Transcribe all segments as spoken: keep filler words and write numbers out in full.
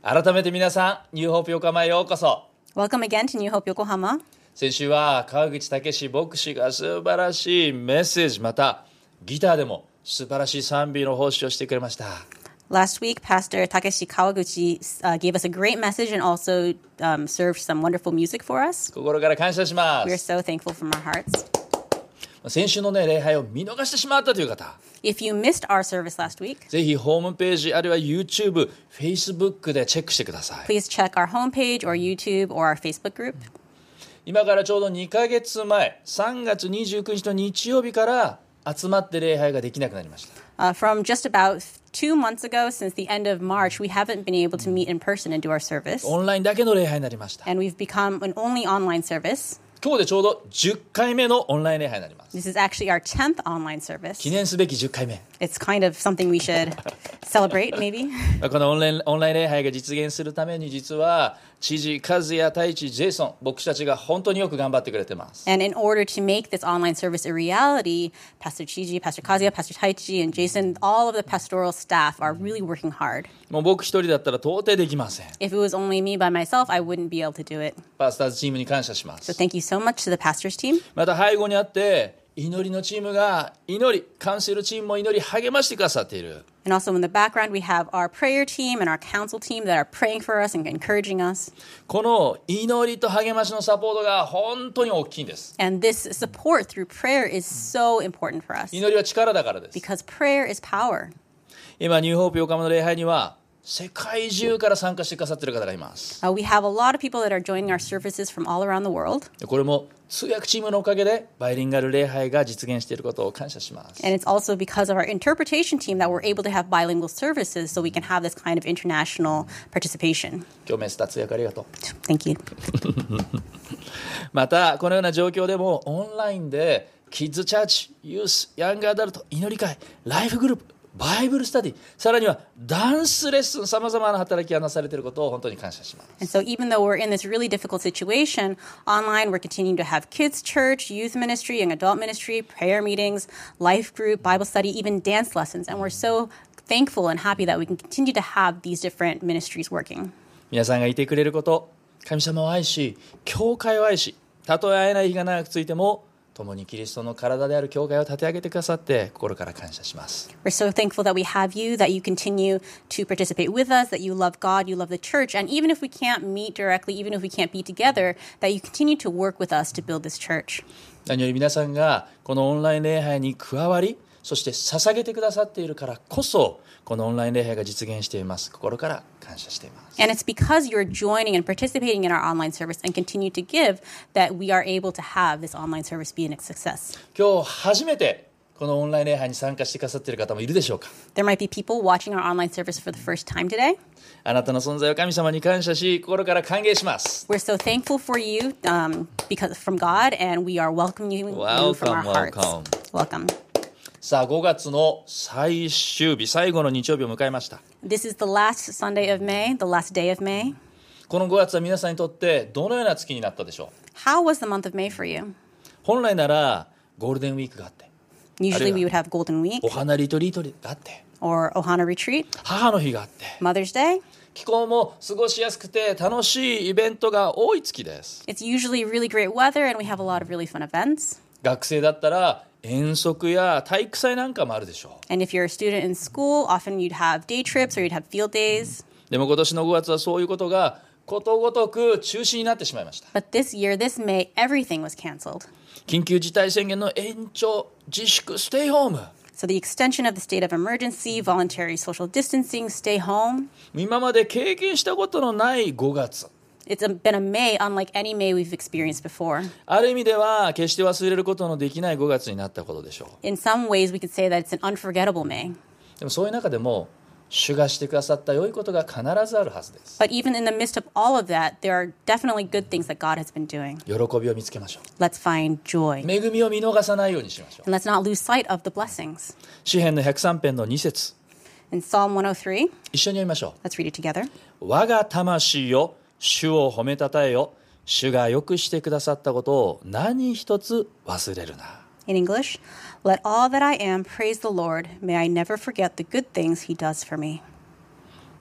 改めて皆さん、ニューホープ横浜へようこそ。 Welcome again to New Hope Yokohama. 先週は川口武史牧師が素晴らしいメッセージ、またギターでも素晴らしい賛美の奉仕をしてくれました。 Last week, Pastor Takeshi Kawaguchi uh, gave us a great message and also um, served some wonderful music for us. 心から感謝しま We are す。 so thankful from our hearts. 先週のね、礼拝を見逃してしまったという方、 If you missed our service last week, ぜひホームページあるいは YouTube、Facebook でチェックしてください。 please check our homepage or YouTube or our Facebook group. 今からちょうどにかげつまえ、さんがつにじゅうくにちの日曜日から集まって礼拝ができなくなりました。 Uh, from just about two months ago, since the end of March, we haven't been able to meet in person and do our service. オンラインだけの礼拝になりました。 And we've become an only online service. 今日でちょうどじゅっかいめのオンライン礼拝になります。 This is actually our tenth online service. 記念すべきじゅっかいめ。 It's kind of something we should celebrate, maybe. このオンライン、オンライン礼拝が実現するために、実は知事、和也、太一、ジェイソン、牧師たちが本当によく頑張ってくれてます。 And in order to make this online service a reality, Pastor Chiji, Pastor Kazuya, Pastor Taichi, and Jason, all of the pastoral staff are really working hard. もう僕一人だったら到底できません。 If it was only me by myself, I wouldn't be able to do it. パスターズチームに感謝します。 So thank you so much to the pastors team. また背後にあって祈りのチームが祈り、カウンセルチームも祈り励ましてくださっている。 And also in the background, we have our prayer team and our council team that are praying for us and encouraging us. この祈りと励ましのサポートが本当に大きいんです。 And this support through prayer is so important for us 祈りは力だからです。 because prayer is power. 今ニューホープ横浜の礼拝には世界中から参加してくださっている方がいます。 Uh, we have a lot of people that are joining our services from all around the world. これも通訳チームのおかげでバイリンガル礼拝が実現していることを感謝します。 And it's also because of our interpretation team that we're able to have bilingual services so we can have this kind of international participation. 今日メスタ通訳ありがとう。 Thank you. またこのような状況でもオンラインでキッズチャーチ、ユース、ヤングアダルト、祈り会、ライフグループ、バイブルスタディ、さらにはダンスレッスン、さまざまな働きがなされていることを本当に感謝します。 And so even though we're in this really difficult situation, online we're continuing to have kids church, youth ministry, young adult ministry, prayer meetings, life group, Bible study, even dance lessons. And we're so thankful and happy that we can continue to have these different ministries working. 皆さんがいてくれること、神様を愛し、教会を愛し、たとえ会えない日が長くついても共にキリストの体である教会を立て上げてくださって心から感謝します。 We're so thankful that we have you, that you continue to participate with us, that you love God, you love the church, and even if we can't meet directly, even if we can't be together, that you continue to work with us to build this church. 何より皆さんがこのオンライン礼拝に加わり、そして捧げてくださっているからこそこのオンライン礼拝が実現しています。心から感謝しています。 And it's because you're joining and participating in our online service and continue to give that we are able to have this online service be a success. 今日初めてこのオンライン礼拝に参加してくださっている方もいるでしょうか。 There might be people watching our online service for the first time today. あなたの存在を神様に感謝し心から歓迎します。 We're so thankful for you um, because from God, and we are welcoming you from our hearts. Welcome, Welcome. さあごがつの最終日、最後の日曜日を迎えました。 This is the last Sunday of May, the last day of May. このごがつは皆さんにとってどのような月になったでしょう。 How was the month of May for you? 本来ならゴールデンウィークがあって、 Usually we would have Golden Week お花リトリートがあって、 or Ohana Retreat, 母の日があって、 Mother's Day. 気候も過ごしやすくて楽しいイベントが多い月です。 It's usually really great weather and we have a lot of really fun events. 学生だったら遠足や体育祭なんかもあるでしょう。 And if you're a student in school, often you'd have day trips or you'd have field days. でも今年のごがつはそういうことがことごとく中止になってしまいました。 But this year, this May, everything was canceled. 緊急事態宣言の延長、自粛、ステイホーム。 So the extension of the state of emergency, voluntary social distancing, stay home. 今まで経験したことのないごがつ。 It's a, been a May unlike any May we've experienced before. ある意味では決して忘れることのできないごがつになったことでしょう。 In some ways, we could say that it's an unforgettable May. でもそういう中でも主がしてくださった良いことが必ずあるはずです。 But even in the midst of all of that, there are definitely good things that God has been doing. 喜びを見つけましょう。 Let's find joy. 恵みを見逃さないようにしましょう。 And let's not lose sight of the blessings. 詩編のひゃくさん編のに節、 In Psalm one oh three, 一緒に読みましょ let's read it together. う。我が魂よ、主を褒めたたえよ。主がよくしてくださったことを何一つ忘れるな。 In English, let all that I am praise the Lord. May I never forget the good things he does for me.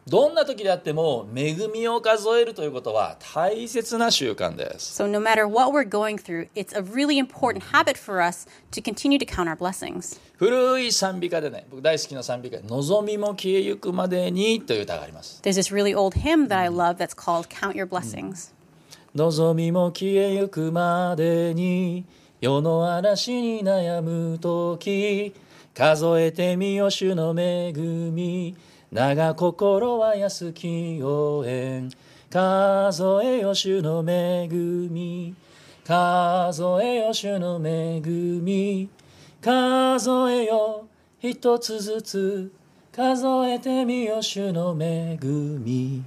どんな時であっても恵みを数えるということは大切な習慣です。 So no matter what we're going through, it's a really important habit for us to continue to count our blessings. 古い賛美歌でね、僕大好きな賛美歌で望みも消えゆくまでにという歌があります。 There's this really old hymn that I love that's called Count Your Blessings. 望みも消えゆくまでに世の嵐に悩む時数えてみよ主の恵み長心は安き応援数えよ主の恵み数えよ主の恵み数えよ一つずつ数えてみよ主の恵み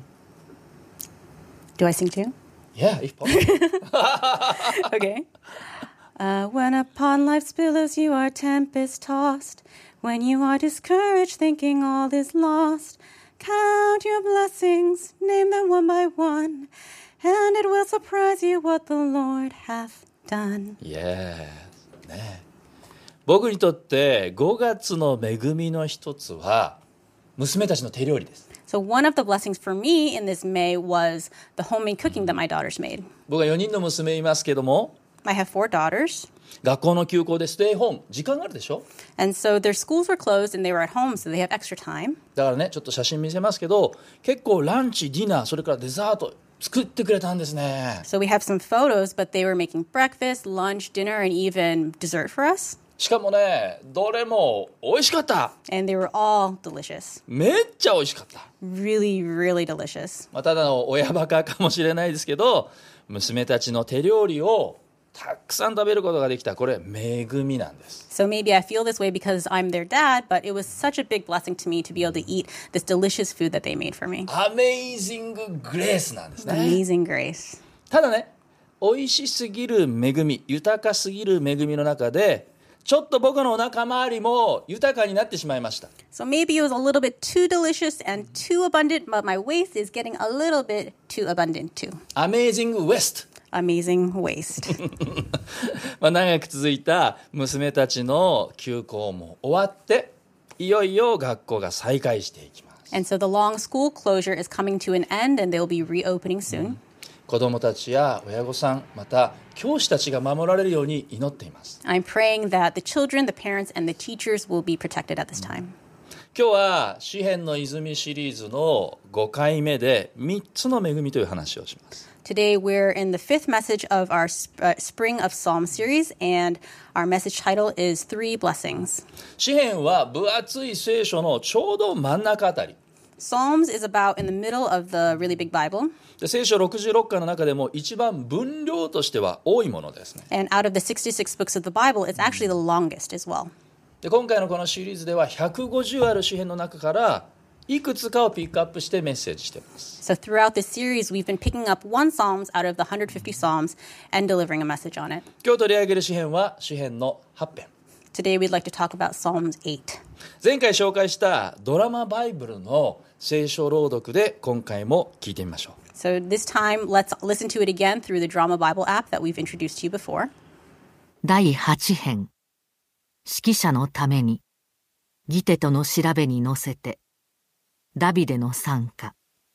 Do I sing too? Yeah, if possible. Okay. Uh, when upon life's billows you are tempest tossed, when you are discouraged thinking all is lost, count your blessings, name them one by one, and it will surprise you what the Lord hath done. Yes. ね。僕にとってごがつの恵みの一つは娘たちの手料理です。 So one of the blessings for me in this May was the homemade cooking that my daughters made. 僕はよにんの娘いますけども、 I have four daughters. 学校の休校でステイホーム時間があるでしょ。 And so their schools were closed and they were at home, so they have extra time. だからね、ちょっと写真見せますけど、結構ランチ、ディナー、それからデザート作ってくれたんですね。 So we have some photos, but they were making breakfast, lunch, dinner, and even dessert for us. しかもね、どれも美味しかった。 And they were all delicious. めっちゃ美味しかった。 Really, really delicious. まあ、ただの親バカかもしれないですけど、娘たちの手料理をたくさん食べることができた。これ恵みなんです。 So maybe I feel this way because I'm their dad, but it was such a big blessing to me to be able to eat this delicious food that they made for me. Amazing Grace なんですね。 Amazing Grace. ただね、美味しすぎる恵み、豊かすぎる恵みの中で、ちょっと僕のお腹周りも豊かになってしまいました。 So maybe it was a little bit too delicious and too abundant, but my waist is getting a little bit too abundant too. Amazing West. Amazing waist. まあ長く続いた娘たちの休校も終わって、いよいよ学校が再開していきます。 And so the long school closure is coming to an end and they'll be reopening soon. 子どもたちや親御さん、また教師たちが守られるように祈っています。 I'm praying that the children, the parents, and the teachers will be protected at this time. 今日は詩編の泉シリーズのごかいめでみっつの恵みという話をします。 Today we're in the fifth message of our uh, Spring of Psalm series, and our message title is Three Blessings. 詩編は分厚い聖書のちょうど真ん中あたり。 Psalms is about in the middle of the really big Bible. で聖書ろくじゅうろっかいの中でも一番分量としては多いものですね。 And out of the sixty-six books of the Bible, it's actually the longest as well. で今回のこのシリーズではひゃくごじゅうある詩編の中からいくつかをピックアップしてメッセージしています。 So throughout this series, we've been picking up one Psalms out of the one hundred fifty Psalms and delivering a message on it. 今日取り上げる詩編は詩編のはち編。 Today we'd like to talk about Psalms eight. 前回紹介したドラマバイブルの聖書朗読で今回も聞いてみましょう。 So this time, let's listen to it again through the Drama Bible app that we've introduced to you before. だいはち編指揮者のためにギテとの調べに乗せてダビデの賛歌。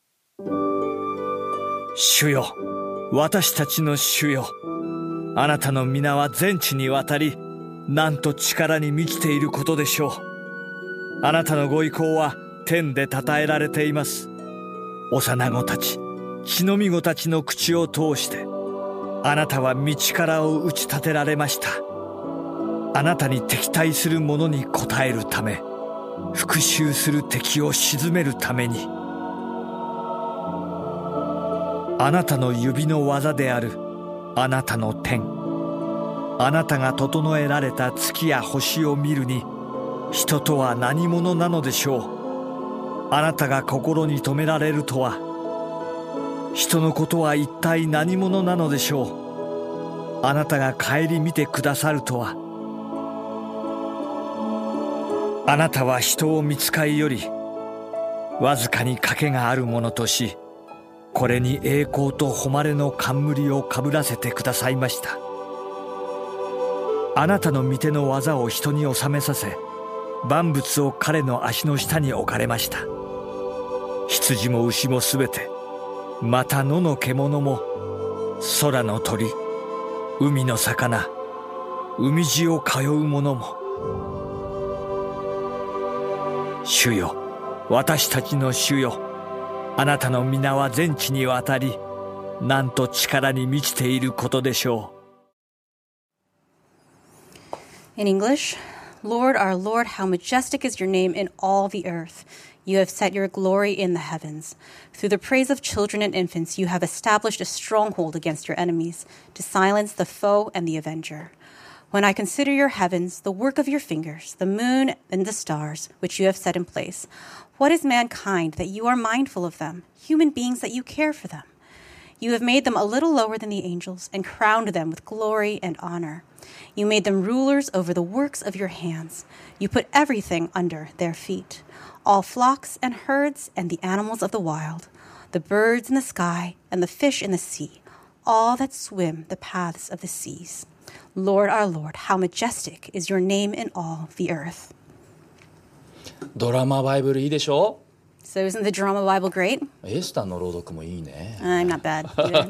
主よ、私たちの主よ、あなたの皆は全地にわたり、なんと力に満ちていることでしょう。あなたのご意向は天で称えられています。幼子たち、血のみ子たちの口を通して、あなたは道からを打ち立てられました。あなたに敵対する者に応えるため、復讐する敵を鎮めるために、あなたの指の技であるあなたの天、あなたが整えられた月や星を見るに、人とは何者なのでしょう。あなたが心に留められるとは、人のことは一体何者なのでしょう。あなたが顧みてくださるとは、あなたは人を見つかいよりわずかに賭けがあるものとし、これに栄光と誉れの冠をかぶらせてくださいました。あなたの御手の技を人に収めさせ、万物を彼の足の下に置かれました。 羊も牛もすべて、また野の獣も、空の鳥、海の魚、海地を通う者も。主よ、私たちの主よ、あなたの皆は全地にわたり、なんと力に満ちていることでしょう。In English, Lord, our Lord, how majestic is your name in all the earth. You have set your glory in the heavens. Through the praise of children and infants, you have established a stronghold against your enemies, to silence the foe and the avenger. When I consider your heavens, the work of your fingers, the moon and the stars, which you have set in place, what is mankind that you are mindful of them, human beings that you care for them? You have made them a little lower than the angels and crowned them with glory and honor. You made them rulers over the works of your hands. You put everything under their feet, all flocks and herds and the animals of the wild, the birds in the sky and the fish in the sea, all that swim the paths of the seas. Lord, our Lord, how majestic is your name in all the earth. ドラマバイブルいいでしょ？ So isn't the drama Bible great? エスタの朗読もいいね。 I'm not bad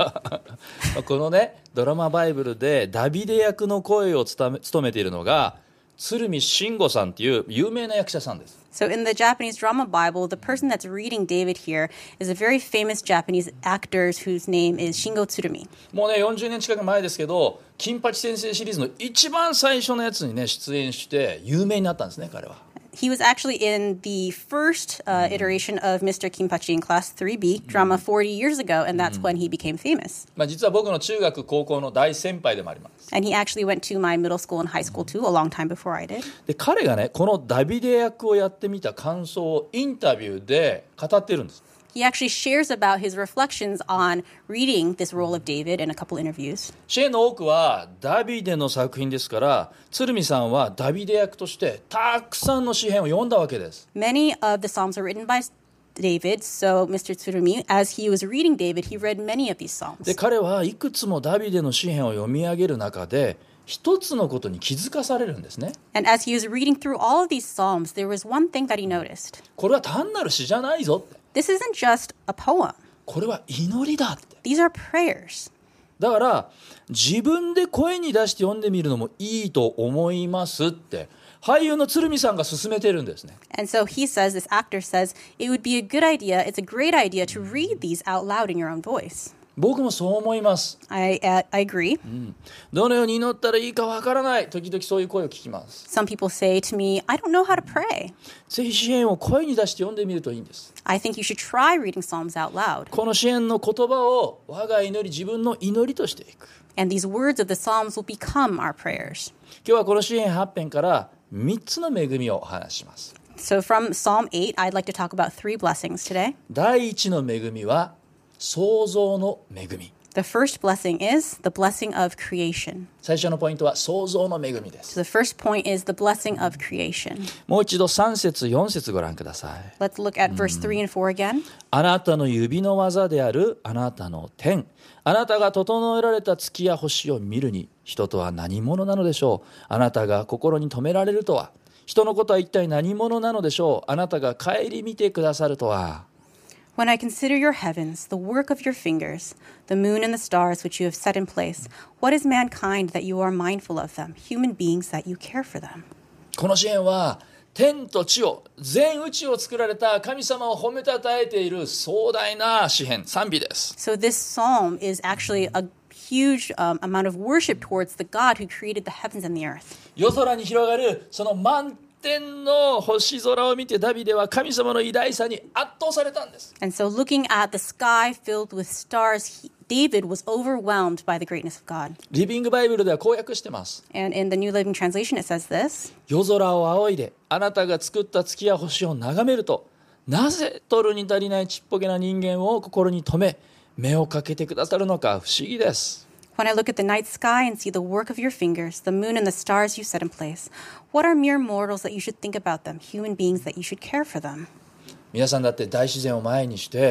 either. このね、ドラマバイブルでダビデ役の声を務め、務めているのが鶴見慎吾さんっていう有名な役者さんです。 So in the Japanese drama Bible, the person that's reading David here is a very famous Japanese actor whose name is Shingo Tsurumi. もうね、よんじゅうねん近く前ですけど、金八先生シリーズの一番最初のやつにね、出演して有名になったんですね、彼は。 He was actually in the first uh, iteration of Mister Kinpachi in Class three B drama forty years ago, and that's when he became famous. まあ実は僕の中学高校の大先輩でもあります。 And he actually went to my middle school and high school too, a long time before I did. で、彼がね、このダビデ役をやってみた感想をインタビューで語ってるんです。 He actually shares about his reflections on reading this role of David in a couple interviews. シェーンの多くはダビデの作品ですから、鶴見さんはダビデ役としてたくさんの詩編を読んだわけです。 Many of the psalms are written by David, so Mister Tsurumi, as he was reading David, he read many of these psalms. で、彼はいくつもダビデの詩編を読み上げる中で、一つのことに気づかされるんですね。 And as he was reading through all of these psalms, there was one thing that he noticed. これは単なる詩じゃないぞって。 This isn't just a poem. これは祈りだって。 These are prayers. だから自分で声に出して読んでみるのもいいと思いますって俳優の鶴見さんが勧めてるんですね。 And so he says, this actor says, it would be a good idea, it's a great idea to read these out loud in your own voice. 僕もそう思います。 I, uh, I agree. うん、どのように祈ったらいいかわからない。時々そういう声を聞きます。 Some people say to me, I don't know how to pray. ぜひ詩篇を声に出して読んでみるといいんです。 I think you should try reading Psalms out loud. この詩篇の言葉を我が祈り、自分の祈りとしていく。 And these words of the Psalms will become our prayers. 今日はこの詩篇はち編からみっつの恵みをお話しします。 So from Psalm eight, I'd like to talk about three blessings today. 第一の恵みは創造の恵み。 The first blessing is the blessing of creation. 最初のポイントは創造の恵みです。 So the first point is the blessing of creation. もう一度さん節よん節ご覧ください。 Let's look at verse three and four again. あなたの指の技であるあなたの天、あなたが整えられた月や星を見るに、人とは何者なのでしょう。あなたが心に留められるとは、人のことは一体何者なのでしょう。あなたが顧みてくださるとは。 When I consider your heavens, the work of your fingers, the moon and the stars which you have set in place, what is mankind that you are mindful of them, human beings that you care for them? この詩篇は天と地を、全宇宙を作られた神様を褒めたたえている壮大な詩篇、賛美です。 So this psalm is actually a huge um, amount of worship towards the God who created the heavens and the earth. 夜空に広がるその満天の星空を見てダビデは神様の偉大さに圧倒されたんです。 And so looking at the sky filled with stars, he, David was overwhelmed by the greatness of God. リビングバイブルではこう訳してます。 And in the New Living Translation it says this. 夜空を仰いであなたが作った月や星を眺めると、なぜ取るに足りないちっぽけな人間を心に留め目をかけてくださるのか不思議です。 When I look at the night sky and see the work of your fingers, the moon and the stars you set in place, what are mere mortals that you should think about them, human beings that you should care for them? 皆さんだって大自然を前にして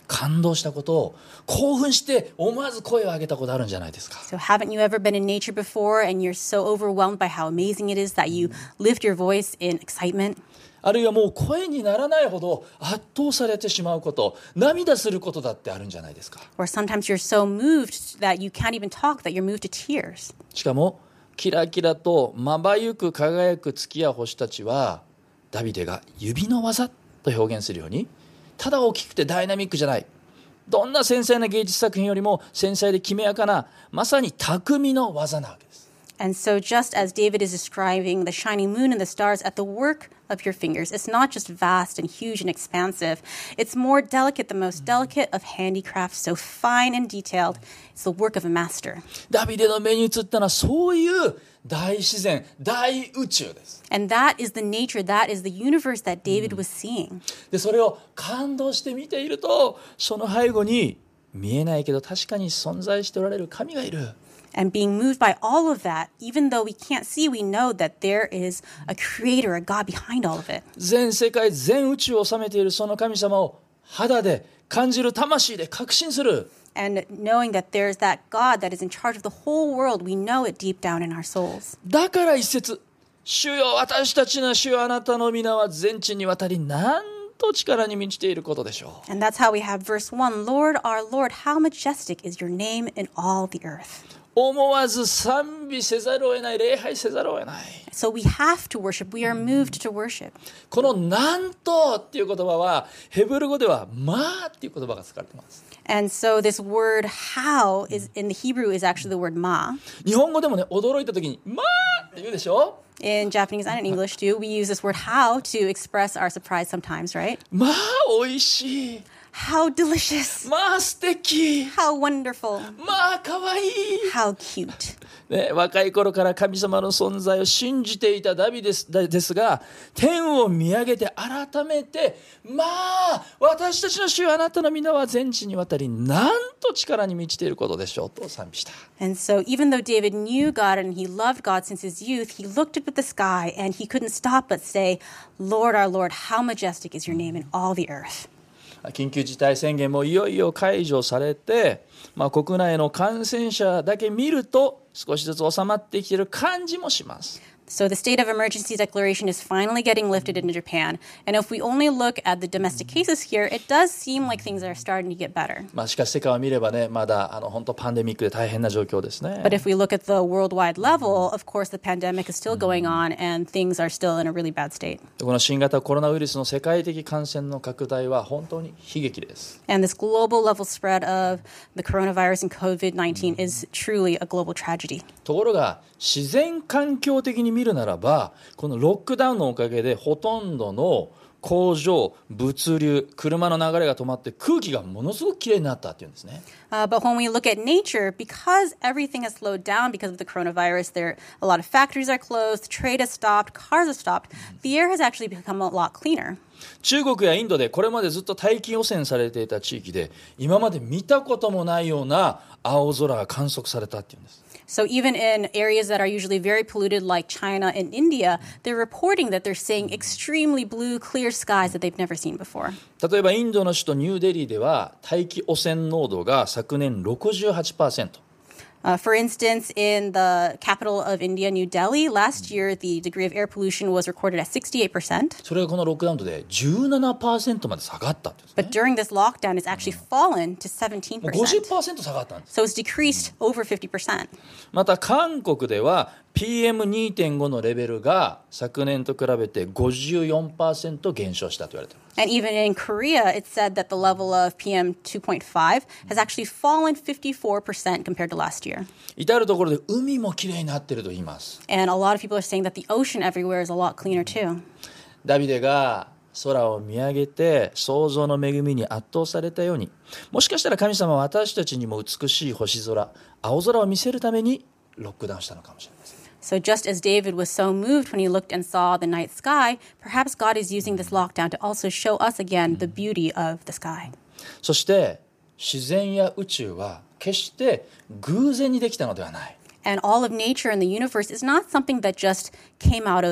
感動したことを興奮して思わず声を上げたことあるんじゃないですか。 So haven't you ever been in nature before and you're so overwhelmed by how amazing it is that you lift your voice in excitement? あるいはもう声にならないほど圧倒されてしまうこと、涙することだってあるんじゃないですか。 Or sometimes you're so moved that you can't even talk, that you're moved to tears. しかもキラキラとまばゆく輝く月や星たちはダビデが指の技と表現するように、ただ大きくてダイナミックじゃない、どんな繊細な芸術作品よりも繊細できめやかな、まさに匠の技なわけです。 And so just as David is describing the shining moon and the stars at the work of your fingers, it's not just vast and huge and expansive. It's more delicate, the most delicate of handicraft, so fine and detailed. It's the work of a master. ダビデの目に映ったのはそういう大自然、大宇宙です。 And that is the nature, that is the universe that David was seeing. でそれを感動して見ていると、その背後に見えないけど確かに存在しておられる神がいる。 And being moved by all of that, even though we can't see, we know that there is a creator, a God behind all of it. 全世界全宇宙を治めているその神様を肌で感じる、魂で確信する。 And knowing that there's that God that is in charge of the whole world, we know it deep down in our souls. だから一節、主よ私たちの主よあなたの皆は全地にわたりなんと力に満ちていることでしょう。 And that's how we have verse one, Lord, our Lord, how majestic is your name in all the earth. 思わず賛美せざるを得ない、礼拝せざるを得ない。 So we have to worship. We are moved to worship. このなんとっていう言葉はヘブル語ではまあっていう言葉が使われています。 And so this word how is in the Hebrew is actually the word ma. 日本語でもね、驚いた時にまあって言うでしょ。 In Japanese and in English too, we use this word how to express our surprise sometimes, right? まあ美味しい、 How delicious. まあ素敵、 How wonderful. まあ可愛い、 How cute. ね、若い頃から神様の存在を信じていたダビデです、ですが、天を見上げて改めて、まあ私たちの主よあなたの皆は全地にわたりなんと力に満ちていることでしょうと賛美した。 And so even though David knew God and he loved God since his youth, he looked up at the sky and he couldn't stop but say, Lord, our Lord, how majestic is your name in all the earth. 緊急事態宣言もいよいよ解除されて、まあ、国内の感染者だけ見ると少しずつ収まってきている感じもします。 So the state of emergency declaration is finally getting lifted in Japan. And if we only look at the domestic cases here, it does seem like things are starting to get better. まあ、しかし世界を見ればね、まだあの本当パンデミックで大変な状況ですね。 But if we look at the worldwide level, of course, the pandemic is still going on and things are still in a really bad state. この新型コロナウイルスの世界的感染の拡大は本当に悲劇です。 And this global level spread of the coronavirus and covid nineteen is truly a global tragedy. ところが自然環境的に見るならば、このロックダウンのおかげでほとんどの工場、物流、車の流れが止まって空気がものすごくきれいになったっていうんですね。 Uh, but when we look at nature, because everything has slowed down because of the coronavirus, there a lot of factories are closed, trade has stopped, cars have stopped. The air has actually become a lot cleaner. 中国やインドでこれまでずっと大気汚染されていた地域で今まで見たこともないような青空が観測されたっていうんです。 So even in areas that are usually very polluted like China and India, they're reporting that they're seeing extremely blue, clear skies that they've never seen before. 例えばインドの首都ニューデリーでは大気汚染濃度が昨年 ろくじゅうはちパーセント。 Uh, for instance, in the capital of India, New Delhi, last year the degree of air pollution was recorded at sixty-eight percent. それがこのロックダウンで じゅうななパーセント まで下がったっていうんですね。 But during this lockdown, it's actually fallen to seventeen もう ごじゅっ percent. パーセント 下がったんです。 So it's decreased over fifty percent. また韓国では ピーエムにてんご のレベルが昨年と比べて ごじゅうよんパーセント 減少したと言われています。 And even in Korea, it's said that the level of P M two point five has actually fallen fifty-four percent compared to last year. 至るところで海もきれいになっていると言います。 And a lot of people are saying that the ocean everywhere is a lot cleaner too. ダビデが空を見上げて創造の恵みに圧倒されたように、もしかしたら神様は私たちにも美しい星空、青空を見せるためにロックダウンしたのかもしれません。 So just as David was so moved when he looked and saw the night sky, perhaps God is using this lockdown to also show us again the beauty of the sky. そして自然や宇宙は決して偶然にできたのではない。 And all of nature and the universe is not something that just came out of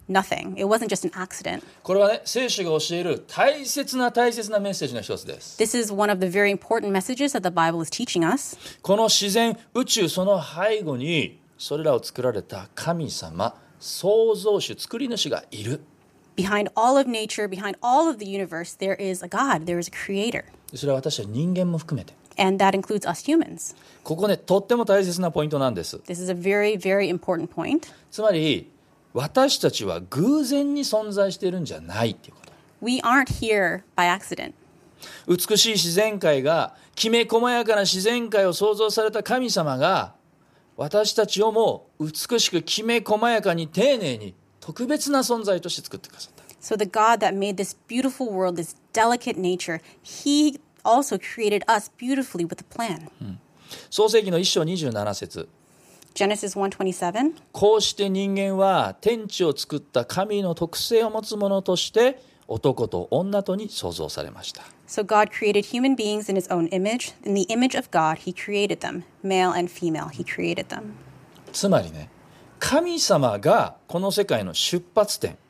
nothing. It wasn't just an accident. これはね、聖書が教える大切な大切なメッセージの一つです。 This is one of the very important messages that the Bible is teaching us. この自然、宇宙、その背後にそれらを作られた神様、創造主、作り主がいる。 Behind all of nature, behind all of the universe, there is a God, there is a creator. それは私たち人間も含めて。 And that includes us humans. ここね、とっても大切なポイントなんです。 This is a very, very important point. つまり、私たちは偶然に存在しているんじゃないっていうこと。 We aren't here by accident. 美しい自然界が、きめ細やかな自然界を創造された神様が、私たちをも美しくきめ細やかに丁寧に特別な存在として作ってくださった。 So the God that made this beautiful world, this delicate nature, he also created us beautifully with a plan. 創世記の一章にじゅうなな節。 Genesis one twenty-seven. こうして人間は天地を作った神の特性を持つものとして男と女とに創造されました。 So God created human beings in his own image. In the image of God, he created them. Male and female, he created them. つまりね、神様がこの世界の出発点、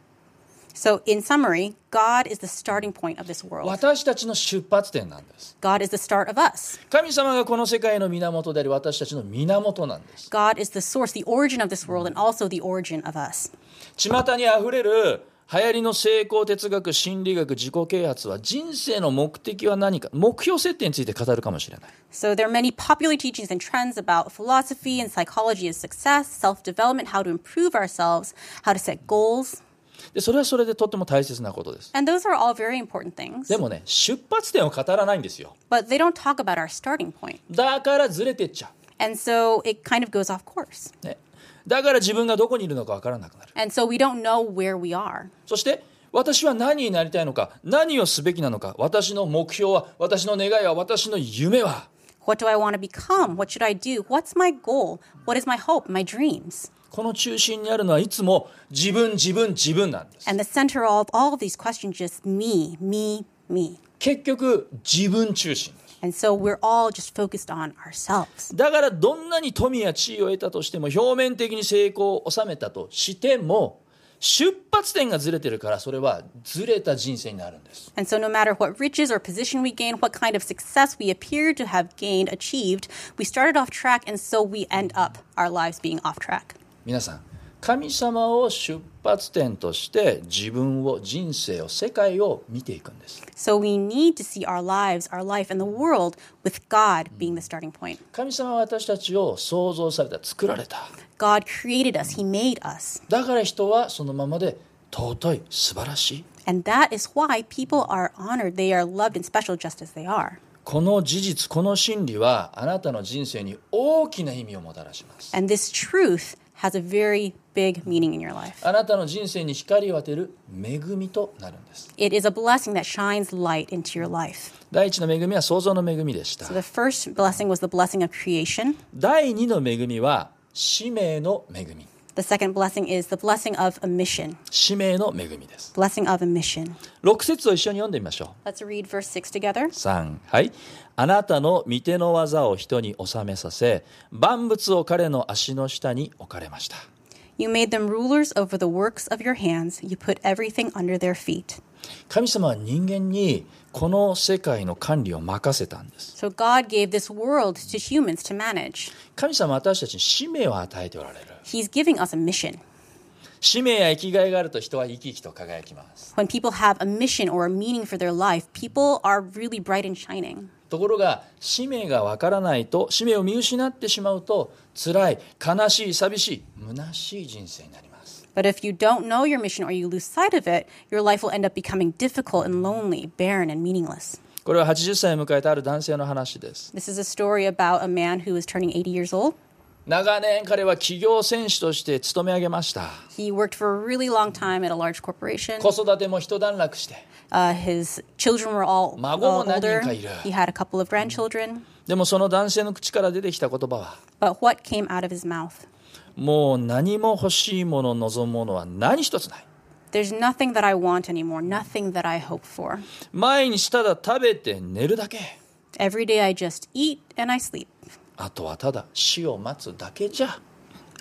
So in summary, God is the starting point of this world. 私たちの出発点なんです。 God is the start of us. 神様がこの世界の源であり、私たちの源なんです。 God is the source, the origin of this world, and also the origin of us. 巷にあふれる流行りの成功哲学、心理学、自己啓発は人生の目的は何か、目標設定について語るかもしれない。 So there are many popular teachings and trends about philosophy and psychology of success, self-development, how to improve ourselves, how to set goals. でそれはそれでとっても大切なことです。 And those are all very important things. でもね、出発点を語らないんですよ。 But they don't talk about our starting point. だからずれてっちゃ And so it kind of goes off course. う。ね、だから自分がどこにいるのかわからなくなる。 And so we don't know where we are. そして私は何になりたいのか、何をすべきなのか、私の目標は、私の願いは、私の夢は。 What do I want to become? What should I do? What's my goal? What is my hope? My dreams? この中心にあるのはいつも自分、自分、自分なんです。 And the center of all of these questions is just me, me, me. 結局自分中心です。 And so we're all just focused on ourselves. だからどんなに富や地位を得たとしても、表面的に成功を収めたとしても、出発点がずれてるから、それはずれた人生になるんです。 And so no matter what riches or position we gain, what kind of success we appear to have gained, achieved, we started off track, and so we end up our lives being off track. 皆さん、神様を出発点として自分を、人生を、世界を見ていくんです。 So we need to see our lives, our life, and the world with God being the starting point. 神様は私たちを創造された、作られた。 God created us. He made us. だから人はそのままで尊い、素晴らしい。 And that is why people are honored. They are loved and special just as they are. この事実、この真理はあなたの人生に大きな意味をもたらします。 And this truth has a very big meaning in your life. あなたの人生に光を当てる恵みとなるんです。 It is a blessing that shines light into your life. 第一の恵みは創造の恵みでした。 So the first blessing was the blessing of creation. 第二の恵みは使命の恵み。 The second blessing is the blessing of a mission. 使命の恵みです。 Blessing of a mission. ろく節を一緒に読んでみましょう。 Let's read verse six together. さん、はい。あなたの御手の技を人に収めさせ、万物を彼の足の下に置かれました。 You made them rulers over the works of your hands. You put everything under their feet. 神様は人間にこの世界の管理を任せたんです。 So God gave this world to humans to manage. 神様は私たちに使命を与えておられる。 He's giving us a mission. 使命や生きがいがあると人は生き生きと輝きます。 When people have a mission or a meaning for their life, people are really bright and shining. ところが使命がわからないと、使命を見失ってしまうと、辛い、悲しい、寂しい、虚しい人生になります。 But if you don't know your mission or you lose sight of it, your life will end up becoming difficult and lonely, barren and meaningless. これははちじゅっさいを迎えたある男性の話です。 This is a story about a man who is turning eighty years old. 長年彼は企業選手として勤め上げました。 He worked for a really long time at a large corporation. 子育ても一段落して。 Uh, his children were all, all 孫も何人 older. かいる。 He had a couple of grandchildren. でもその男性の口から出てきた言葉は、 But what came out of his mouth? もう何も欲しいもの、望むものは何一つない。 There's nothing that I want anymore, nothing that I hope for. 毎日ただ食べて寝るだけ。 Every day I just eat and I sleep. あとはただ死を待つだけじゃ。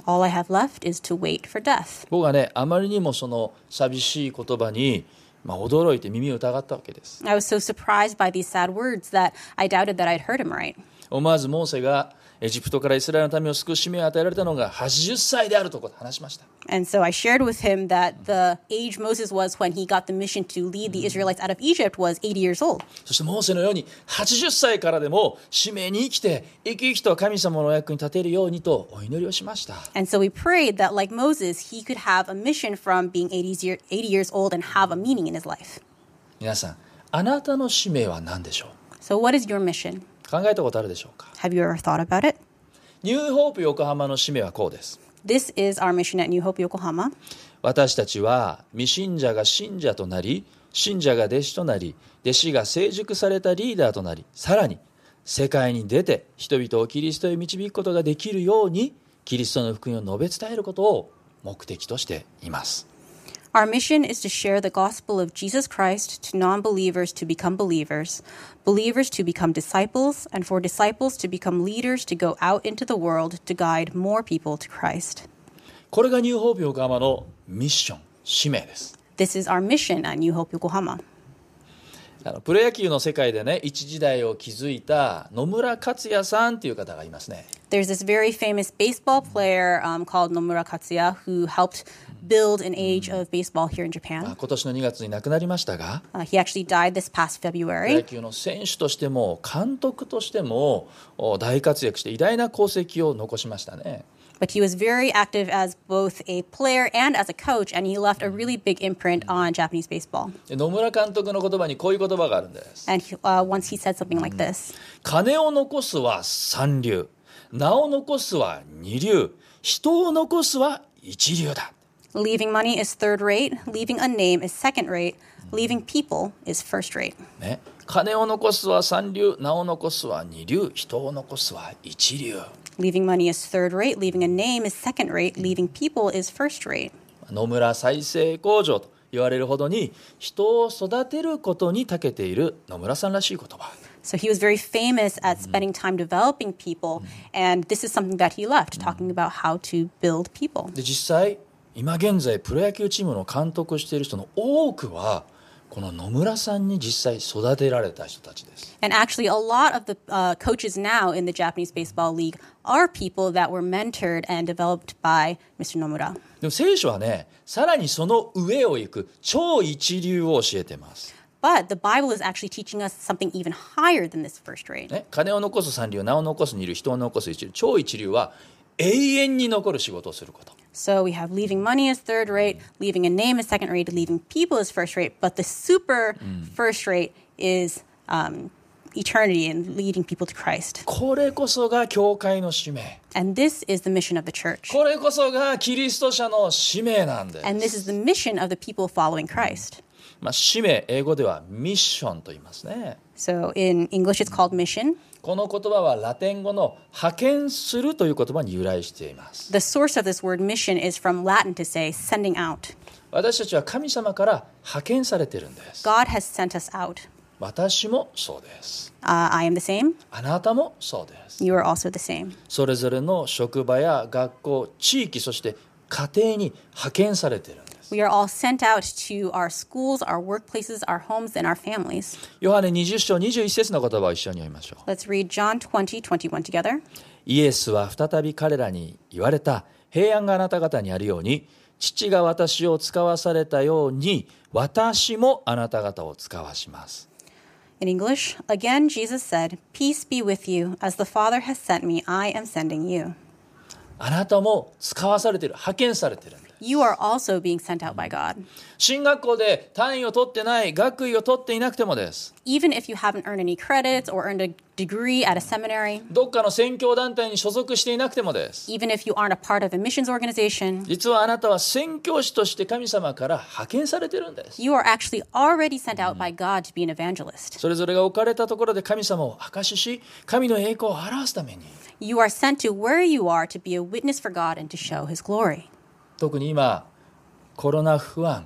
All I have left is to wait for death. 僕はね、あまりにもその寂しい言葉に、まあ、驚いて耳を疑ったわけです。 I was so surprised by these sad words that I doubted that I'd heard him right. 思わずモーセがエジプトからイスラエルの民を救う使命を与えられたのがはちじゅっさいであると話しました。 And so I shared with him that the age Moses was when he got the mission to lead the Israelites out of Egypt was eighty years old. そしてモーセのようにはちじゅっさいからでも使命に生きて生き生きと神様のお役に立てるようにとお祈りをしました。 And so we prayed that like Moses, he could have a mission from being eighty years old and have a meaning in his life. 皆さん、あなたの使命は何でしょう？ So what is your mission? 考えたことあるでしょうか？ Have you ever thought about it? ニューホープ横浜の使命はこうです。 This is our mission at New Hope Yokohama. 私たちは未信者が信者となり、信者が弟子となり、弟子が成熟されたリーダーとなり、さらに世界に出て人々をキリストへ導くことができるように、キリストの福音を述べ伝えることを目的としています。 Our mission is to share the gospel of Jesus Christ to non-believers to become believers, believers to become disciples, and for disciples to become leaders to go out into the world to guide more people to Christ. これがニューホープ横浜のミッション、使命です。 This is our mission at New Hope Yokohama. あのプロ野球の世界でね、一時代を築いた野村克也さんという方がいますね。 There's this very famous baseball player um, called Nomura Katsuya who helped build an age of baseball here in ま Japan. あ今年のにがつに亡くなりましたが、 Uh, he actually died this past プロ野 February. 球の選手としても監督としてもお大活躍して偉大な功績を残しましたね。 But he was very active as both a player and as a coach, and he left a really big imprint on Japanese baseball. で野村監督の言葉にこういう言葉があるんです。 And he, uh, once he said something like this. 金を残すは三流、名を残すは二流、人を残すは一流だ。 Leaving money is third rate, leaving a name is second rate, leaving people is first rate. ね、金を残すは三流、名を残すは二流、人を残すは一流。 Leaving money is third rate, leaving a name is second rate, leaving people is first rate. 野村再生工場と言われるほどに人を育てることに長けている野村さんらしい言葉。 So he was very famous at spending time developing people, and this is something that he left, talking about how to build people. で実際今現在プロ野球チームの監督をしている人の多くはこの野村さんに実際育てられた人たちです。 And actually, a lot of the uh, coaches now in the Japanese Baseball League are people that were mentored and developed by Mister Nomura. でも聖書はね、さらにその上を行く超一流を教えてます。 But the Bible is actually teaching us something even higher than this first rate. ね、金を残す三流、名を残す二流、人を残す一流、超一流は永遠に残る仕事をすること。 So we have leaving money as third rate, leaving a name as second rate, leaving people as first rate. But the super first rate is um, eternity and leading people to Christ. これこそが教会の使命。 And this is the mission of the church. これこそがキリスト者の使命なんです。 And this is the mission of the people following Christ. まあ、使命、英語ではミッションと言いますね。 So in English, it's called mission. この言葉はラテン語の派遣するという言葉に由来しています。 The source of this word mission is from Latin to say sending out. 私たちは神様から派遣されているんです。 God has sent us out. 私もそうです。 Uh, I am the same. あなたもそうです。 You are also the same. それぞれの職場や学校、地域、そして家庭に派遣されているんです。 We are all sent out to our schools, our workplaces, our homes, and our families. ヨハネにじゅっ章にじゅういち節の言葉を一緒に読みましょう。 Let's read John twenty, twenty-one together. イエスは再び彼らに言われた。平安があなた方にあるように、父が私を使わされたように、私もあなた方を使わします。 In English, again Jesus said, "Peace be with you. As the Father has sent me, I am sending you." あなたも使わされている、派遣されているんです。 You are also being sent out by God. 進学校で単位を取ってない、学位を取っていなくてもです。 Even if you haven't earned any credits or earned a degree at a seminary, どっかの宣教団体に所属していなくてもです。 even if you aren't a part of a missions organization, 実はあなたは宣教師として神様から派遣されているんです。 you are actually already sent out by God to be an evangelist. それぞれが置かれたところで神様を証しし、神の栄光を表すために。 You are sent to where you are to be a witness for God and to show His glory. 特に今、コロナ不安、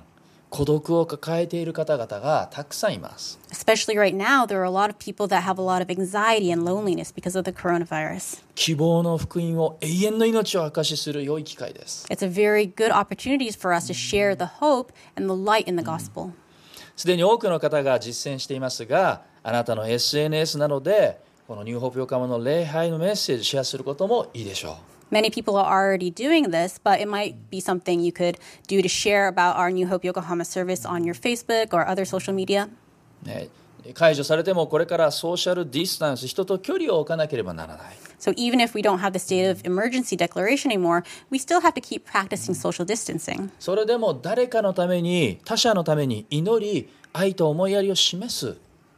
孤独を抱えている方々がたくさんいます。 Especially right now, there are a lot of people that have a lot of anxiety and loneliness because of the coronavirus. 希望の福音を永遠の命を証しする良い機会です。 It's a very good opportunity for us to share the hope and the light in the gospel. すでに多くの方が実践していますが、あなたの エスエヌエス などでこのニューホープ横浜の礼拝のメッセージをシェアすることもいいでしょう。 Many people are already doing this, but it might be something you could do to share about our New Hope Yokohama service on your Facebook or other social media. ね、解除されてもこれからソーシャルディスタンス、人と距離を置かなければならない。 So even if we don't have the state of emergency declaration anymore, we still have to keep practicing social distancing. それでも誰かのために、他者のために祈り、愛と思いやりを示す。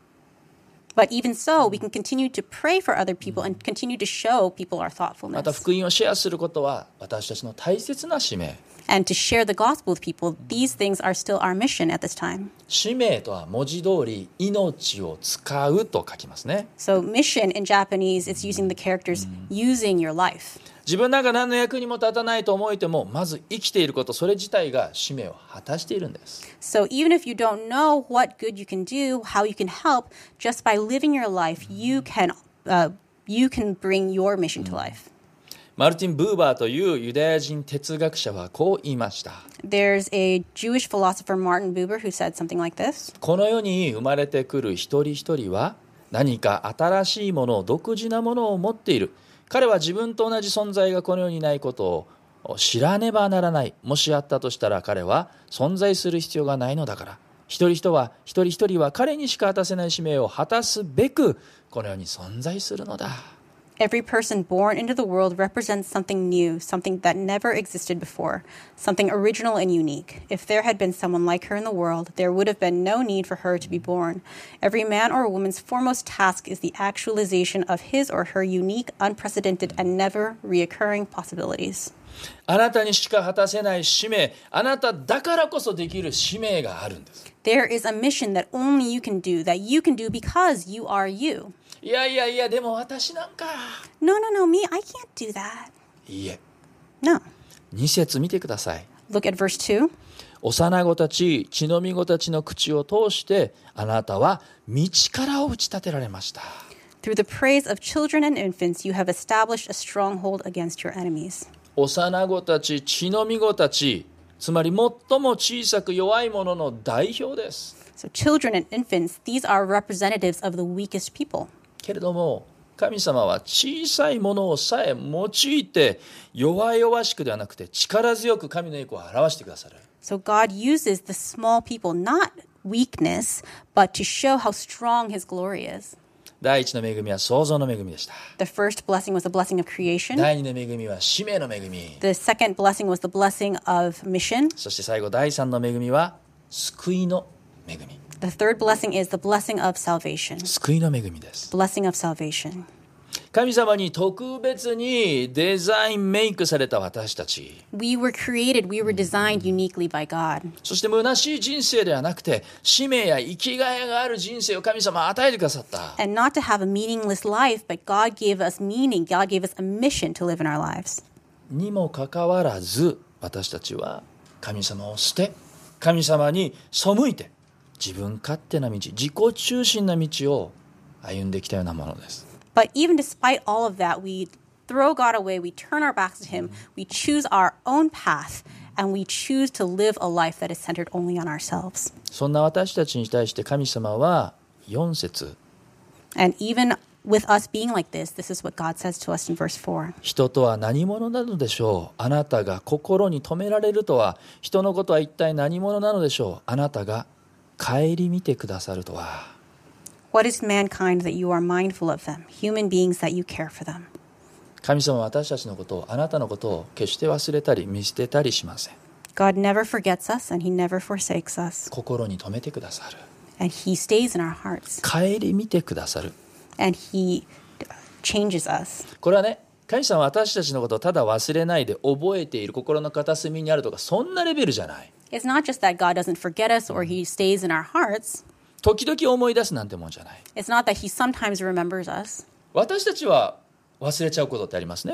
But even so, we can continue to pray for other people and continue to show people our また thoughtfulness. 福音をシェアすることは私たちの大切な使命。 And to share the gospel with people, these things are still our mission at this time. 使命とは文字通り命を使うと書きますね。 So mission in Japanese, it's using the characters using your life. 自分なんか何の役にも立たないと思えても、まず生きていること、それ自体が使命を果たしているんです。 So even if you don't know what good you can do, how you can help, just by living your life, you can, uh, you can bring your mission to life. マルティン・ブーバーというユダヤ人哲学者はこう言いました。 There's a Jewish philosopher, Martin Buber, who said something like this. この世に生まれてくる一人一人は何か新しいもの、独自なものを持っている。彼は自分と同じ存在がこの世にないことを知らねばならない。もしあったとしたら彼は存在する必要がないのだから。一人一は一人一人は彼にしか果たせない使命を果たすべくこの世に存在するのだ。 Every person born into the world represents something new, something that never existed before, something original and unique. If there had been someone like her in the world, there would have been no need for her to be born. Every man or woman's foremost task is the actualization of his or her unique, unprecedented, and never reoccurring possibilities. あなたにしか果たせない使命、あなただからこそできる使命があるんです。 There is a mission that only you can do, that you can do because you are you. いやいやいや、でも私なんか。 No, no, no, me, I can't do that. いいえ。 No. に節見てください。 Look at verse two. 幼子たち、血のみ子たちの口を通してあなたは道からを打ち立てられました。 Through the praise of children and infants, you have established a stronghold against your enemies. 幼子たち、血のみ子たち、つまり最も小さく弱い者の代表です。 So children and infants, these are representatives of the weakest people. けれども神様は小さいものをさえ用いて弱々しくではなくて力強く神の栄光を表してくださる。 So God uses the small people, not weakness, but to show how strong his glory is. 第一の恵みは創造の恵みでした。 The first blessing was the blessing of creation. 第二の恵みは使命の恵み。 The second blessing was the blessing of mission. そして最後第三の恵みは救いの恵み。 The third blessing is the blessing of salvation. 救いの恵みです。 Blessing of salvation. 神様に特別にデザインメイクされた私たち。 We were created, we were designed uniquely by God. そして虚しい人生ではなくて使命や生きがいがある人生を神様は与えてくださった。 And not to have a meaningless life, but God gave us meaning. God gave us a mission to live in our lives. にもかかわらず私たちは神様を捨て神様に背いて自分勝手な道、自己中心な道を歩んできたようなものです。 But even despite all of that, we throw God away, we turn our backs to Him, we choose our own path, and we choose to live a life that is centered only on ourselves. そんな私たちに対して神様はよん節 And even with us being like this, this is what God says to us in verse four. 人とは何者なのでしょう。あなたが心に留められるとは人のことは一体何者なのでしょう。あなたが顧みてくださるとは。 What is mankind that you are mindful of them, human beings that you care for them? 神様は私たちのことをあなたのことを決して忘れたり見捨てたりしません。 God never forgets us and He never forsakes us. 心に留めてくださる。 And He stays in our hearts. 顧みてくださる。 And He changes us. これはね、神様は私たちのことをただ忘れないで覚えている心の片隅にあるとかそんなレベルじゃない。 It's not just that God doesn't forget us or He stays in our hearts. 時々思い出すなんてもんじゃない。 It's not that He sometimes remembers us. 私たちは忘れちゃうことってありますね。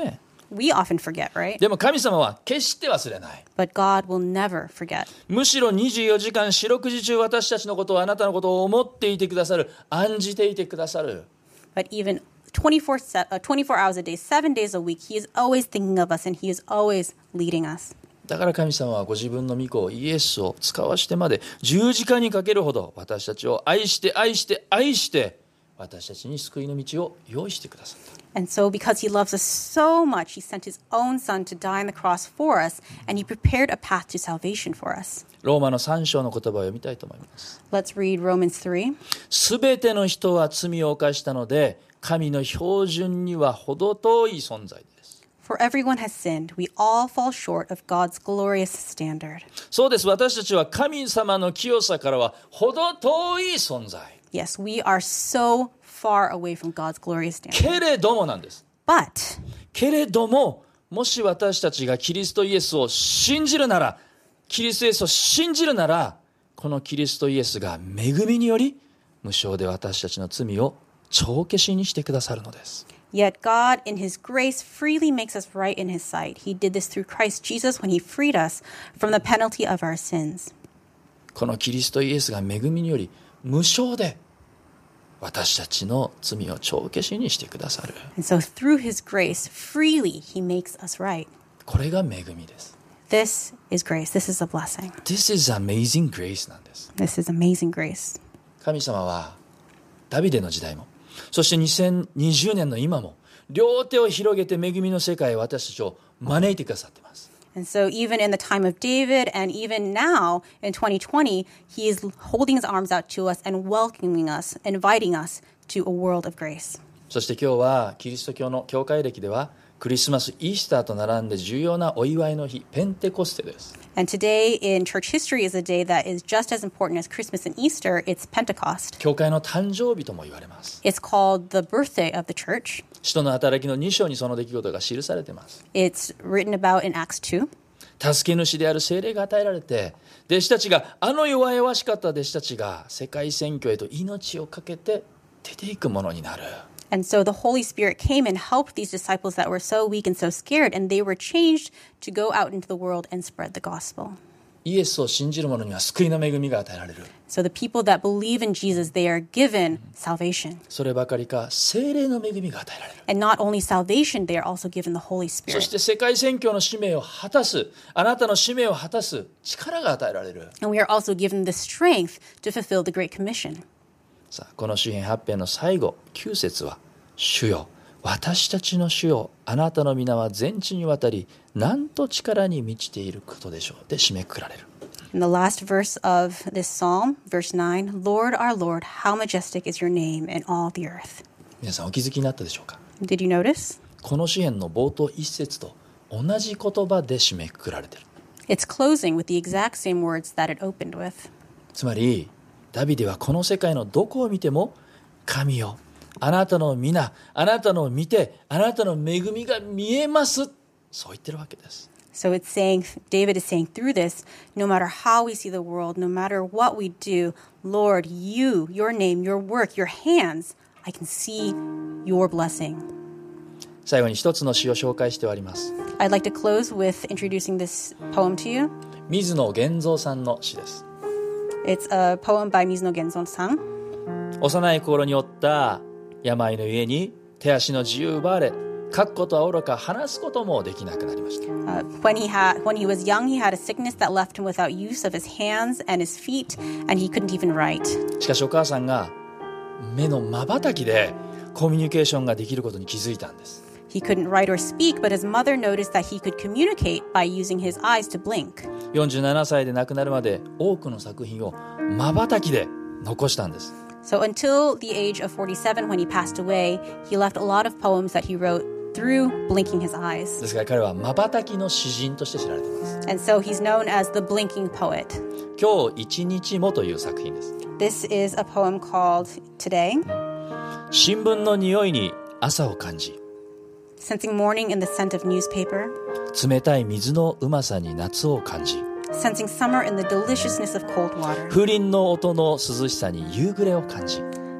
We often forget, right? でも神様は決して忘れない。 But God will never forget. むしろにじゅうよじかん四六時中私たちのことをあなたのことを思っていてくださる、案じていてくださる。 But even twenty-four, se- uh, twenty-four hours a day, seven days a week, He is always thinking of us and He is always leading us. だから神様はご自分の御子イエスを使わしてまで十字架にかけるほど私たちを愛して愛して愛して私たちに救いの道を用意してくださった。 And so because He loves us so much, He sent His own Son to die on the cross for us, and He prepared a path to salvation for us. ローマのさん章の言葉を読みたいと思います。 Let's read Romans three. すべての人は罪を犯したので神の標準には程遠い存在です。 For everyone has sinned. We all fall short of God's glorious standard. そうです。私たちは神様の清さからは程遠い存在。 Yes, we are so far away from God's glorious standard. けれどもなんです。 But けれども、もし私たちがキリストイエスを信じるなら、キリストイエスを信じるなら、このキリストイエスが恵みにより無償で私たちの罪を帳消しにしてくださるのです。 yet God, in His grace, freely makes us right in His sight. He did this through Christ Jesus when He freed us from the penalty of our sins. このキリストイエスが恵みにより無償で私たちの罪を帳消しにしてくださる。 And so through His grace, freely He makes us right. これが恵みです。 This is grace. This is a blessing. This is amazing grace なんです。 This is amazing grace. 神様はダビデの時代も、そしてにせんにじゅうねんの今も両手を広げて恵みの世界へ私たちを招いてくださっています。 And so even in the time of David and even now in twenty twenty, He is holding His arms out to us and welcoming us, inviting us to a world of grace. そして今日はキリスト教の教会歴ではクリスマス、イースターと並んで重要なお祝いの日、ペンテコステです。 And today in church history is a day that is just as important as Christmas and Easter. It's Pentecost. 教会の誕生日とも言われます。 It's called the birthday of the church. 使徒の働きのに章にその出来事が記されています。 It's written about in Acts two. 助け主である聖霊が与えられて、弟子たちが、あの弱々しかった弟子たちが世界宣教へと命を懸けて出ていくものになる。 And so the Holy Spirit came and helped these disciples that were so weak and so scared, and they were changed to go out into the world and spread the gospel. イエスを信じる者には救いの恵みが与えられる。 So the people that believe in Jesus, they are given salvation. そればかりか、聖霊の恵みが与えられる。 And not only salvation, they are also given the Holy そ Spirit. して世界宣教の使命を果たす、あなたの使命を果たす力が与えられる。 And we are also given the strength to fulfill the Great Commission. さあ、この詩編はち編の最後、きゅう節は、主よ、私たちの主よ、あなたの皆は全地にわたり、なんと力に満ちていることでしょう。で締めくくられる。 In the last verse of this psalm, verse nine, Lord, our Lord, how majestic is your name in all the earth. 皆さんお気づきになったでしょうか。 Did you notice? この詩編の冒頭一節と同じ言葉で締めくくられている。 It's closing with the exact same words that it opened with. つまり、ダビデはこの世界のどこを見ても、神よ、あなたの皆、あなたの見て、あなたの恵みが見えます。そう言ってるわけです。 So it's saying, David is saying through this, no matter how we see the world, no matter what we do, Lord, you, your name, your work, your hands, I can see your blessing. 最後に一つの詩を紹介して終わります。 I'd like to close with introducing this poem to you. 水野源三さんの詩です。 It's a poem by Mizuno Genzon-san. 幼い頃に負った病のゆえに手足の自由を奪われ、書くことはおろか話すこともできなくなりました。 Uh, when he had, when he was young, he had a sickness that left him without use of his hands and his feet, and he couldn't even write. しかしお母さんが目の瞬きでコミュニケーションができることに気づいたんです。 He couldn't write or speak, but his mother noticed that he could communicate by using his eyes to blink. よんじゅうななさいで亡くなるまで多くの作品を瞬きで残したんです。 So until the age of forty-seven, when he passed away, he left a lot of poems that he wrote through blinking his eyes. ですから彼は瞬きの詩人として知られています。 And so he's known as the blinking poet. 今日一日もという作品です。 This is a poem called Today. 新聞の匂いに朝を感じ、 Sensing morning in the scent of newspaper. 冷たい水のうまさに夏を感じ、 Sensing summer in the deliciousness of cold water. 風鈴の音の涼しさに夕暮れを感じ、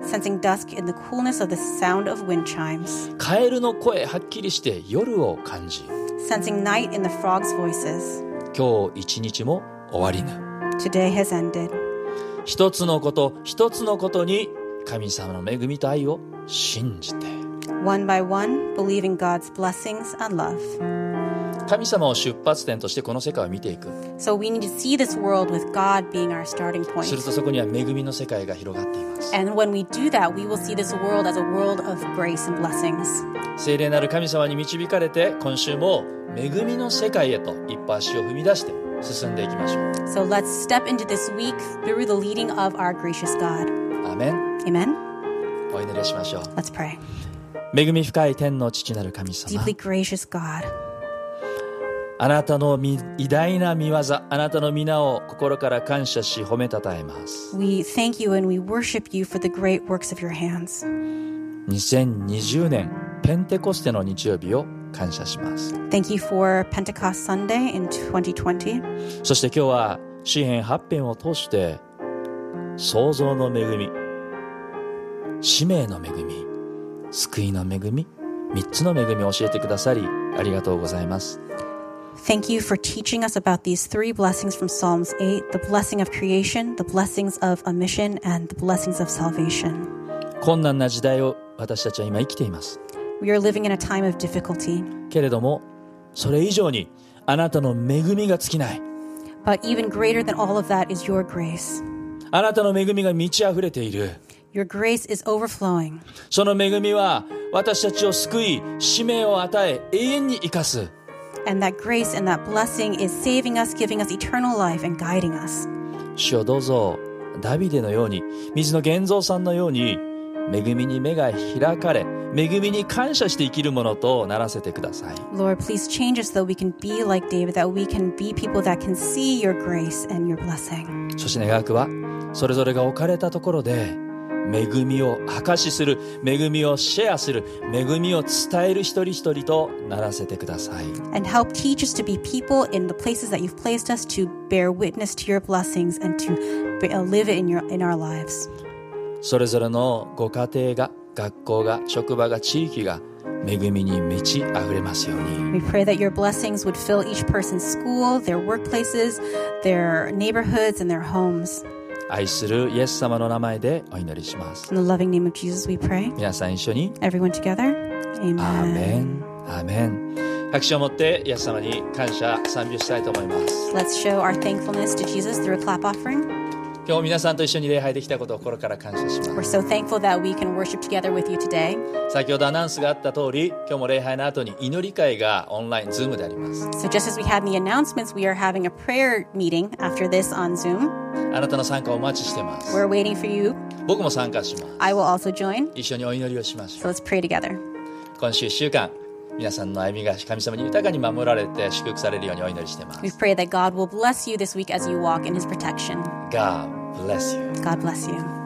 sensing dusk in the coolness of the sound of wind chimes, カエルの声はっきりして夜を感じ、 sensing night in the frogs' voices. 今日一日も終わりぬ。 Today has ended. 一つのこと一つのことに神様の恵みと愛を信じて、 One by one, believing God's blessings and love. 神様を出発点としてこの世界を見ていく。 So we need to see this world with God being our starting する point. とそこには恵みの世界が広がっています。 And when we do that, we will see this world as a world of grace and blessings. 聖霊なる神様に導かれて、今週も恵みの世界へと一歩足を踏み出して進んでいきましょう。 So let's step into this week through the leading of our gracious God. アーメン。 Amen? お祈りしましょう。 Let's pray. 恵み深い天の父なる神様、 Deeply gracious God, あなたのみ偉大な御業、あなたの皆を心から感謝し褒めたたえます。 we thank you and we worship you for the great works of your hands. にせんにじゅうねんペンテコステの日曜日を感謝します。 Thank you for Pentecost Sunday in twenty twenty. そして今日は詩編はち編を通して創造の恵み、使命の恵み、救いの恵み、三つの恵みを教えてくださりありがとうございます。 Thank you for teaching us about these three blessings from Psalms eight, the blessing of creation, the blessings of a mission, and the blessings of salvation. 困難な時代を私たちは今生きています。 We are living in a time of difficulty, けれどもそれ以上にあなたの恵みが尽きない。 but even greater than all of that is your grace. あなたの恵みが満ち溢れている。 Your grace is overflowing. その恵みは私たちを救い、使命を与え、永遠に生かす。 And that grace and that blessing is saving us, giving us eternal life, and guiding us. 主よどうぞダビデのように、水野源三さんのように恵みに目が開かれ、恵みに感謝して生きるものとならせてください。 Lord, please change us so we can be like David, that we can be people that can see your grace and your blessing. そして願わくはそれぞれが置かれたところで恵みを証しする、恵みをシェアする、恵みを伝える一人一人とならせてください。 And help teach us to be people in the places that you've placed us to bear witness to your blessings and to be- uh, live it in, your, in our lives. それぞれのご家庭が、学校が、職場が、地域が恵みに満ち溢れますように。 We pray that your blessings would fill each person's school, their workplaces, their neighborhoods, and their homes. 愛するイエス様の名前でお祈りします。 In the loving name of Jesus we pray. 皆さん一緒に Everyone together. アーメ Amen. ン、アーメン。拍手を持ってイエス様に感謝賛美をしたいと思います。 Let's show our thankfulness to Jesus through a clap offering. 今日も皆さんと一緒に礼拝できたことを心から感謝しま We're す。 so thankful that we can worship together with you today. 先ほどアナウンスがあった通り、今日も礼拝の後に祈り会がオンライン、ズームであります。 So just as we had in the announcements, we are having a prayer meeting after this on Zoom. あなたの参加をお待ちしてます。 We're waiting for you. 僕も参加します。 I will also join. 一緒にお祈りをしましょ So う。 let's pray together. 今週いっしゅうかん、皆さんの歩みが神様に豊かに守られて祝福されるようにお祈りしています。 We pray that God will bless you this week as you walk in his protection. God bless you. God bless you.